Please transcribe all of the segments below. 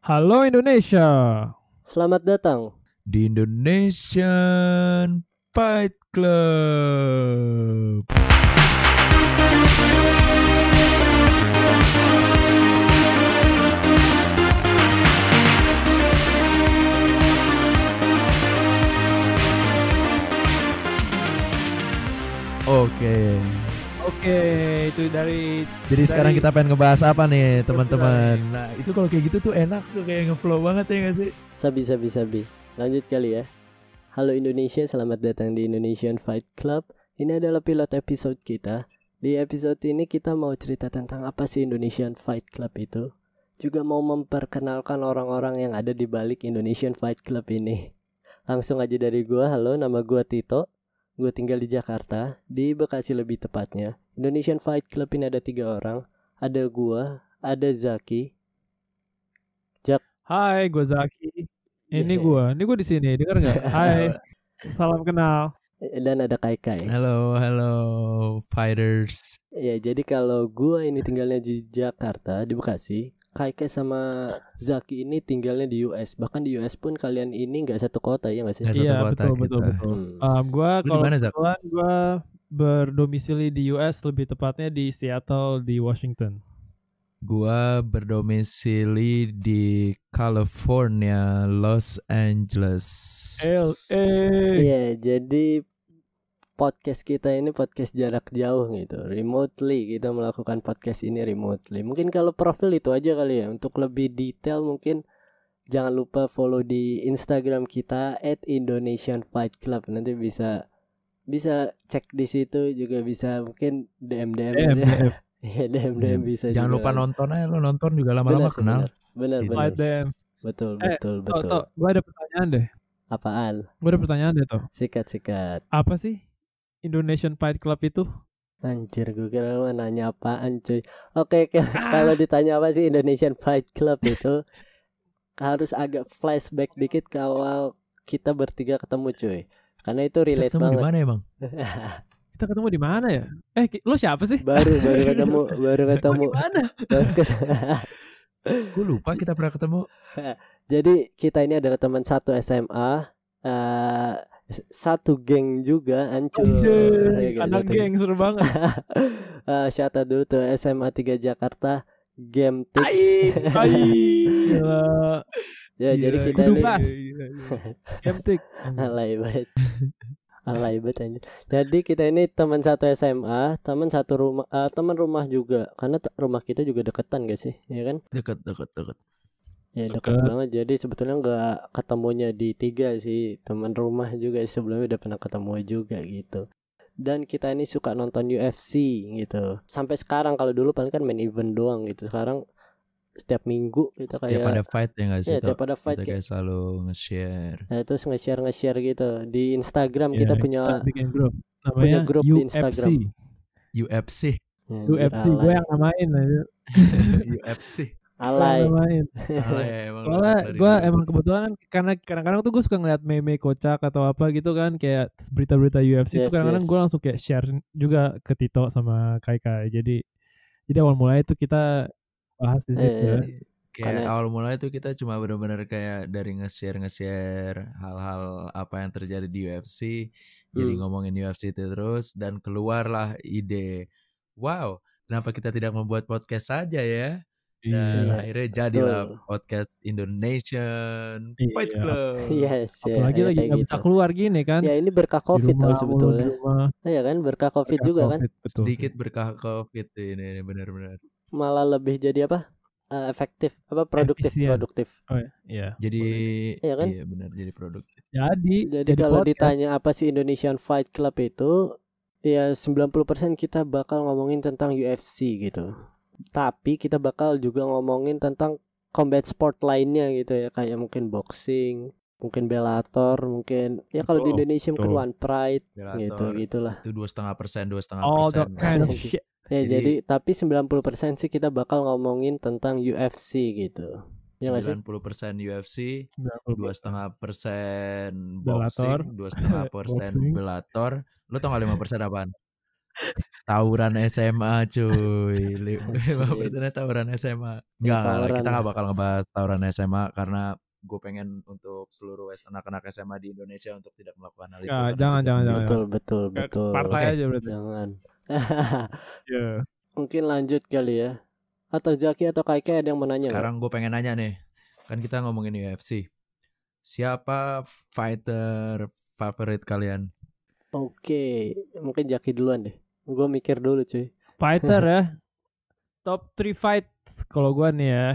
Halo Indonesia. Selamat datang di Indonesian Fight Club. Oke, itu dari Jadi sekarang kita pengen ngebahas apa nih teman-teman. Nah itu kalau kayak gitu tuh enak tuh, kayak ngeflow banget ya gak sih? Sabi. Lanjut kali ya. Halo Indonesia, selamat datang di Indonesian Fight Club. Ini adalah pilot episode kita. Di episode ini kita mau cerita tentang apa sih Indonesian Fight Club itu. Juga mau memperkenalkan orang-orang yang ada di balik Indonesian Fight Club ini. Langsung aja dari gua. Halo, nama gua Tito. Gue tinggal di Jakarta, di Bekasi lebih tepatnya. Indonesian Fight Club ini ada 3 orang. Ada gua, ada Zaki. Hai, gue Zaki. Ini gue di sini. Dengar nggak? Hai, salam kenal. Dan ada Kai. Halo fighters. Ya, jadi kalau gua ini tinggalnya di Jakarta, di Bekasi. Kai sama Zaki ini tinggalnya di US. Bahkan di US pun kalian ini nggak satu kota ya nggak sih? Iya, betul. Gue kalau kebetulan gue berdomisili di US, lebih tepatnya di Seattle di Washington. Gua berdomisili di California, Los Angeles. LA. Iya, jadi podcast kita ini podcast jarak jauh gitu, remotely. Kita melakukan podcast ini remotely. Mungkin kalau profil itu aja kali ya. Untuk lebih detail mungkin jangan lupa follow di Instagram kita @indonesianfightclub. Nanti bisa cek di situ, juga bisa mungkin DM. Iya, DM bisa. Jangan juga. lupa nonton aja, lo nonton juga lama-lama kenal. Benar. Betul. Gue ada pertanyaan deh. Apaan? Gue ada pertanyaan deh toh. Sikat. Apa sih Indonesian Fight Club itu? Anjir, gue kira lu nanya apaan cuy. Oke. Kalau ditanya apa sih Indonesian Fight Club itu, harus agak flashback dikit ke awal kita bertiga ketemu cuy. Karena itu relate banget. Kita ketemu di mana emang? Kita ketemu di mana ya? Lo siapa sih? Baru ketemu. Mana? Gue lupa kita pernah ketemu. Jadi kita ini adalah teman satu SMA, satu geng juga, hancur. Anak geng seru banget. Shout out dulu tuh SMA 3 Jakarta, Game Tik. Ya, jadi kita ini Game Tik. Alay banget anjir. Jadi kita ini teman satu SMA, teman satu rumah, teman rumah juga. Karena rumah kita juga deketan gak sih? Ya kan? Dekat. Ya dekat banget. Jadi sebetulnya nggak ketemunya di 3 sih, teman rumah juga sebelumnya udah pernah ketemu juga gitu. Dan kita ini suka nonton UFC gitu. Sampai sekarang, kalau dulu paling kan main event doang gitu. Sekarang setiap minggu kita setiap ada fight ya nggak sih? Setiap ada fight kita kayak selalu nge-share. Nah, terus nge-share gitu di Instagram. Kita punya grup. Punya grup di Instagram. UFC. Gue yang namain aja. UFC. Alay. Soalnya gue emang kebetulan karena kadang-kadang tuh gue suka ngeliat meme kocak atau apa gitu kan, kayak berita-berita UFC tuh kadang-kadang gue langsung kayak share juga ke Tito sama Kai. Jadi awal mulai itu kita bahas di situ. Kayak awal mulai itu kita cuma benar-benar kayak dari nge-share hal-hal apa yang terjadi di UFC. Jadi ngomongin UFC itu terus, dan keluarlah ide, wow, kenapa kita tidak membuat podcast saja ya? Dan akhirnya jadilah podcast Indonesian Fight Club. Yes, apalagi lagi nggak bisa keluar gini kan? Ya ini berkah COVID tau sebetulnya. Iya kan, berkah COVID juga kan? Sedikit berkah COVID ini benar-benar. Malah lebih jadi apa? Efektif, apa produktif. Oh iya. Jadi iya kan? Iya benar, jadi produktif. Jadi kalau ditanya apa sih Indonesian Fight Club itu, ya 90% kita bakal ngomongin tentang UFC gitu. Tapi kita bakal juga ngomongin tentang combat sport lainnya gitu ya, kayak mungkin boxing, mungkin Bellator, mungkin ya kalau di Indonesia mungkin One Pride gitulah. Itu 2,5%. Kind of shit. Ya jadi tapi 90% sih kita bakal ngomongin tentang UFC gitu. 90% UFC, 2,5% boxing, 2,5% Bellator. Lo tau gak 5% apaan? Tawuran SMA cuy. 5% tawuran SMA. Enggak, kita gak bakal ngebahas tawuran SMA karena gue pengen untuk seluruh anak-anak SMA di Indonesia untuk tidak melakukan hal itu. Jangan. Betul. Partai aja berarti. Jangan. Yeah. Mungkin lanjut kali ya. Atau Jaki atau Kaikai ada yang mau nanya? Sekarang gue pengen nanya nih. Kan kita ngomongin UFC. Siapa fighter favorit kalian? Oke, mungkin Jaki duluan deh. Gue mikir dulu cuy. Fighter ya. Top 3 fight kalau gue nih ya.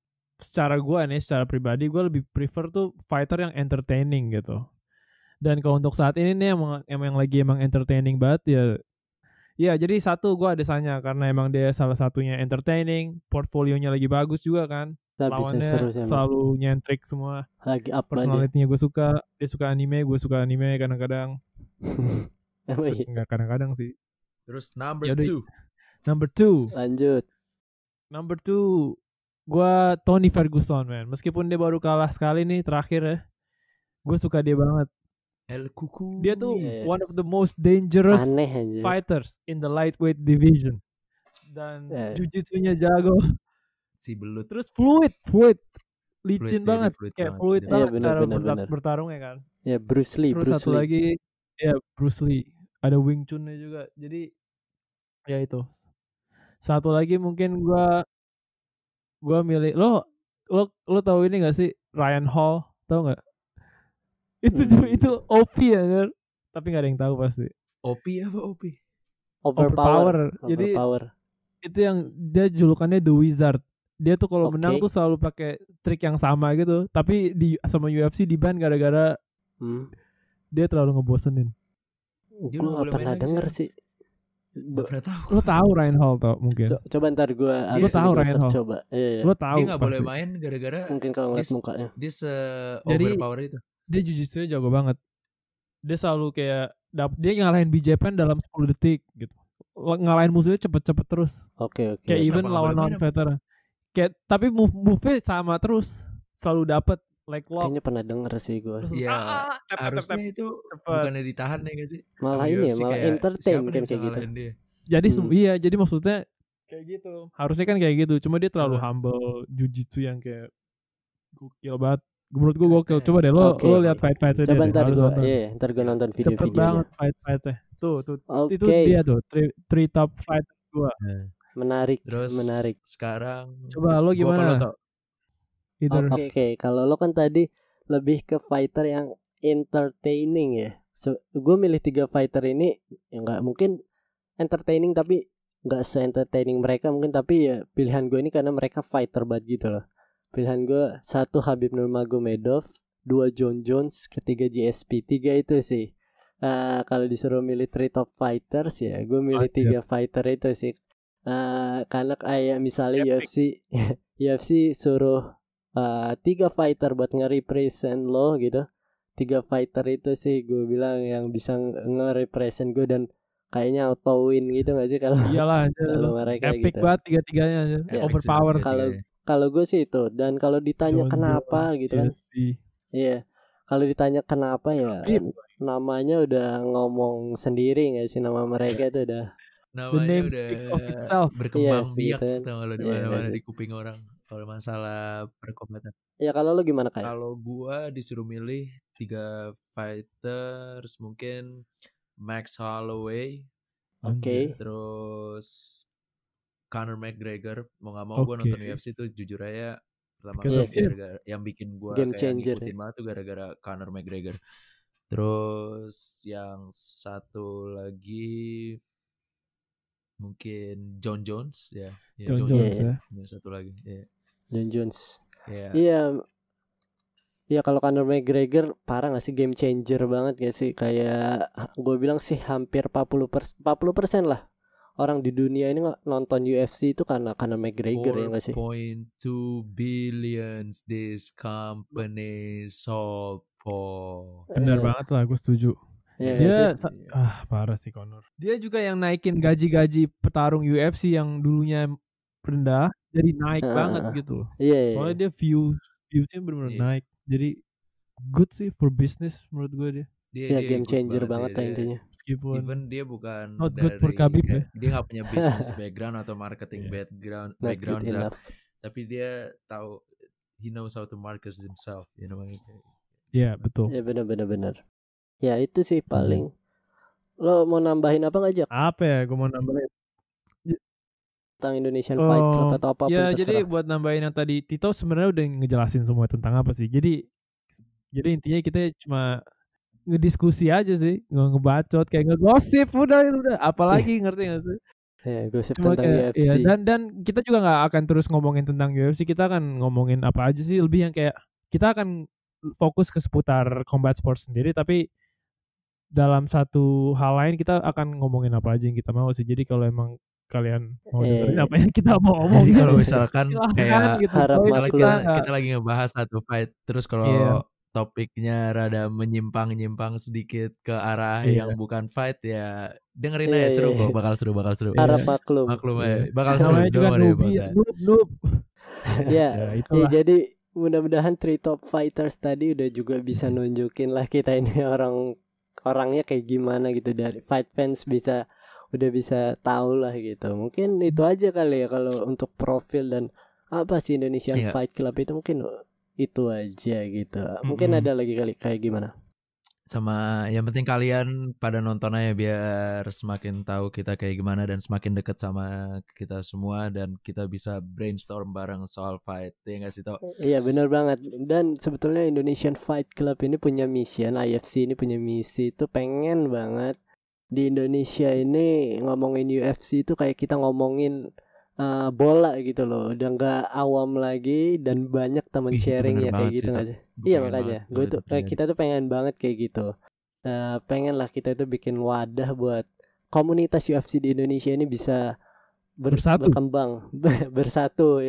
Secara pribadi gue lebih prefer tuh fighter yang entertaining gitu. Dan kalau untuk saat ini nih emang lagi entertaining banget ya. Ya jadi satu gue ada Sanya karena emang dia salah satunya entertaining, portfolionya lagi bagus juga kan. Lawannya selalu nyentrik semua. Lagi up personality-nya gue suka. Dia suka anime, gue suka anime kadang-kadang. Enggak kadang-kadang sih. Terus number 2. Lanjut. Number 2 gue Tony Ferguson man. Meskipun dia baru kalah sekali nih terakhir ya. Gue suka dia banget. El Cucu. Dia tuh one of the most dangerous fighters in the lightweight division. Dan jiu-jitsunya jago. Si belut. Terus fluid. Licin banget. Kayak fluid banget cara bertarungnya kan. Ya Bruce Lee. Terus satu lagi ya Bruce Lee. Ada Wing Chun-nya juga. Jadi ya itu. Satu lagi mungkin gue milih lo tahu ini gak sih Ryan Hall, tahu nggak? Itu OP ya kan? Tapi nggak ada yang tahu pasti. OP apa OP? Overpower. Jadi itu yang dia julukannya The Wizard. Dia tuh kalau menang tuh selalu pakai trik yang sama gitu. Tapi sama UFC di-ban gara-gara dia terlalu ngebosenin. Gue gak pernah denger sih. Gak pernah tahu. Lo tahu Ryan Hall tau mungkin. Coba ntar gue tahu Ryan Hall. Coba. Lo tahu. Dia gak boleh main gara-gara mungkin kalau ngeliat mukanya. Dia overpower itu. Dia jiu-jitsunya jago banget. Dia selalu kayak dia ngalahin BJ Penn dalam 10 detik gitu. Ngalahin musuhnya cepet-cepet terus. Oke. Kayak even lawan veteran. Kayak tapi move-nya sama terus. Selalu dapet like lock. Kayaknya pernah denger sih gue. Iya. Harusnya itu bukannya ditahan ya gak sih? Malah ini ya, malah entertain kan kayak gitu. Jadi iya, jadi maksudnya kayak gitu. Harusnya kan kayak gitu. Cuma dia terlalu humble jiu-jitsu yang kayak gokil banget. Menurut gue gokil. Coba deh lo lihat fight-fightnya dia. Coba ntar gue nonton video-videonya. Cepet banget fight-fightnya. Tuh. Itu dia tuh 3 top fight gue. Menarik. Sekarang coba lo gimana? Oke, kalau lo kan tadi lebih ke fighter yang entertaining ya. Gue milih 3 fighter ini yang nggak mungkin entertaining tapi nggak se-entertaining mereka mungkin, tapi ya pilihan gue ini karena mereka fighter banget gitu loh. Pilihan gue 1 Khabib Nurmagomedov, 2 Jon Jones, 3 GSP. 3 itu sih. Kalau disuruh milih 3 top fighters ya gue milih 3 fighter itu sih. Karena kayak misalnya UFC suruh 3 fighter buat nge-represent lo gitu. 3 fighter itu sih gue bilang yang bisa nge-represent gue dan kayaknya auto win gitu gak sih kalau mereka epic gitu. Banget 3-tiganya overpower. Kalau gue sih itu. Dan kalau ditanya kenapa gitu kan. Iya. Kalau ditanya kenapa ya namanya udah ngomong sendiri gak sih, nama mereka itu udah namanya udah berkembang biak gitu. Kalau di mana-mana di kuping orang kalau masalah perkombatan. Ya kalau lo gimana kayak? Kalau gua disuruh milih 3 fighters mungkin Max Holloway. Terus Conor McGregor. Mau gak mau gua nonton UFC tuh jujur aja pertama kali yang bikin gua game kayak changer, ngikutin banget tuh gara-gara Conor McGregor. Terus yang satu lagi mungkin Jon Jones ya. Jon Jones ya. Satu lagi ya. Jon Jones. Iya. Iya kalau Conor McGregor parah gak sih, game changer banget gak sih? Kayak gue bilang sih hampir 40% lah orang di dunia ini nonton UFC itu karena Conor McGregor ya gak sih? 4.2 billions this company sold for. Benar banget lah, gue setuju. Dia parah sih Conor. Dia juga yang naikin gaji-gaji petarung UFC yang dulunya rendah jadi naik banget gitu loh. Soalnya dia viewsnya benar-benar naik. Jadi good sih for business menurut gue dia. Dia game changer banget lah intinya. meskipun even dia bukan not good for Khabib ya. Dia nggak punya business background atau marketing background Zak, tapi dia tahu, he knows how to market himself, you know. Iya, betul. Ya benar. Ya itu sih paling. Lo mau nambahin apa nggak, Jak? Apa ya gue mau nambahin tentang Indonesian Fight Club atau apapun ya, terserah. jadi buat nambahin yang tadi, Tito sebenarnya udah ngejelasin semua tentang apa sih. Jadi intinya kita cuma ngediskusi aja sih, ngebacot kayak ngegosip udah apalagi ngerti nggak sih? Ya, gosip tentang UFC. Ya, dan kita juga nggak akan terus ngomongin tentang UFC, kita akan ngomongin apa aja sih, lebih yang kayak kita akan fokus ke seputar combat sports sendiri, tapi dalam satu hal lain kita akan ngomongin apa aja yang kita mau sih. Jadi kalau emang kalian mau dengerin apa yang kita mau ngomongin, kalau misalkan kayak gitu, misalnya kita lagi ngebahas satu fight, terus kalau topiknya rada menyimpang sedikit ke arah yang bukan fight, ya dengerin aja, seru kok, bakal seru. Harap maklum ya, bakal seru. Noob. Ya, jadi mudah-mudahan Three Top Fighters tadi udah juga bisa nunjukin lah kita ini orangnya kayak gimana gitu, dari fight fans udah bisa tahu lah gitu. Mungkin itu aja kali ya kalau untuk profil dan apa sih Indonesian Fight Club itu, mungkin itu aja gitu. Mungkin ada lagi kali kayak gimana. Sama yang penting kalian pada nonton aja biar semakin tahu kita kayak gimana dan semakin deket sama kita semua, dan kita bisa brainstorm bareng soal fight, ya nggak sih, Tok? Iya benar banget. Dan sebetulnya Indonesian Fight Club ini punya mission, IFC ini punya misi itu pengen banget di Indonesia ini ngomongin UFC itu kayak kita ngomongin bola gitu loh, udah nggak awam lagi dan banyak teman sharing ya kayak gitu aja. Iya makanya gue tuh kita tuh pengen banget kayak gitu. Pengen lah kita itu bikin wadah buat komunitas UFC di Indonesia ini bisa berkembang bersatu.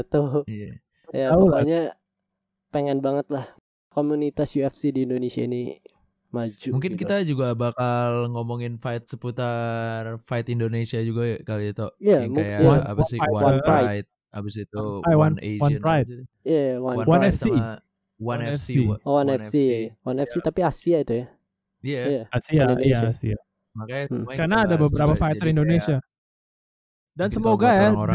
Ya pokoknya pengen banget lah komunitas UFC di Indonesia ini maju. Mungkin gitu. kita juga bakal ngomongin fight seputar fight Indonesia juga kali itu. Iya, kayak apa sih, One Pride, abis itu One Asian, Iya, One FC sama One FC. One FC tapi Asia itu ya. Iya. Asia. Makanya karena ada beberapa fighter Indonesia. Dan semoga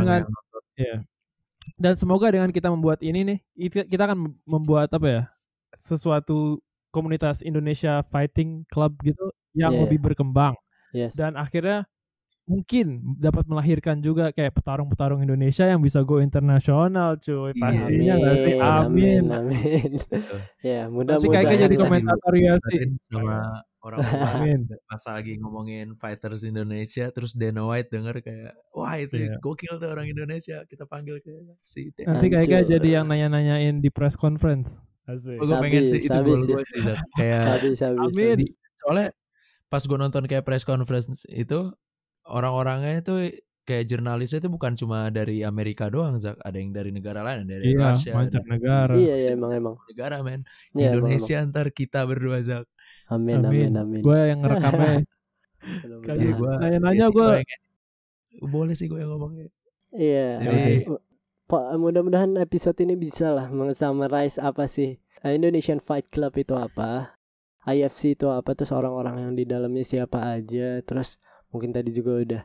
dan semoga dengan kita membuat ini nih, kita akan membuat apa ya, sesuatu komunitas Indonesia Fighting Club gitu yang lebih berkembang. Dan akhirnya mungkin dapat melahirkan juga kayak petarung-petarung Indonesia yang bisa go internasional, cuy. Pastinya nanti. Amin. Ya, mudah-mudahan. Masih kayaknya jadi komentator UFC sama orang-orang pas lagi ngomongin fighters Indonesia, terus Dana White denger kayak, wah itu gokil tuh orang Indonesia, kita panggil ke si Dana. Nanti kayaknya jadi yang nanya-nanyain di press conference. Gue pengen sih itu goal gue sih, kayak amin. Soalnya pas gue nonton kayak press conference itu, orang-orangnya itu kayak jurnalisnya itu bukan cuma dari Amerika doang, Zak. Ada yang dari negara lain, dari Rusia, macam negara. Iya emang negara, men. Indonesia antar kita berdua, Zak. Amin. Gue yang ngerekamnya. Nanya-nanya gue. Boleh sih gue yang ngomongnya. Iya. Mudah-mudahan episode ini bisa lah meng-summarize apa sih Indonesian Fight Club itu apa, IFC itu apa, terus orang-orang yang di dalamnya siapa aja, terus mungkin tadi juga udah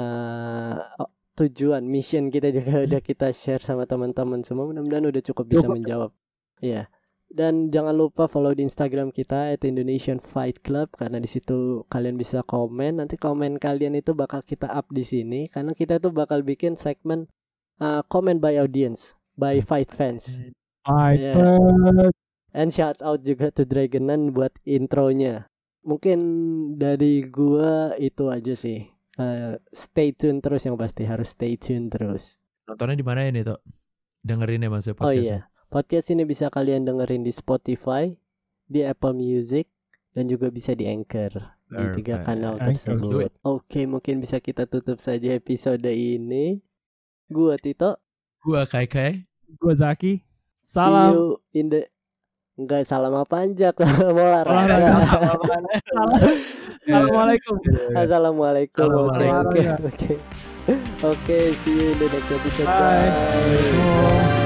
tujuan mission kita juga udah kita share sama teman-teman semua. Mudah-mudahan udah cukup bisa menjawab. Iya. Dan jangan lupa follow di Instagram kita @Indonesian Fight Club, karena di situ kalian bisa komen. Nanti komen kalian itu bakal kita up di sini, karena kita tuh bakal bikin segmen comment by audience, by fight fans. And shout out juga to Dragonan buat intronya. Mungkin dari gua itu aja sih. Stay tune terus, yang pasti harus stay tune terus. Nontonnya di mana ini, Tok? Dengerin ya maksudnya podcast. Oh iya. Podcast ini bisa kalian dengerin di Spotify, di Apple Music, dan juga bisa di Anchor. Di 3 kanal tersebut. Oke, mungkin bisa kita tutup saja episode ini. Gua Tito, gua Kai, gua Zaki. Salam. See you in the enggak, salam apa anjak mau olahraga. Assalamualaikum. Oke. See you in the next episode. Bye.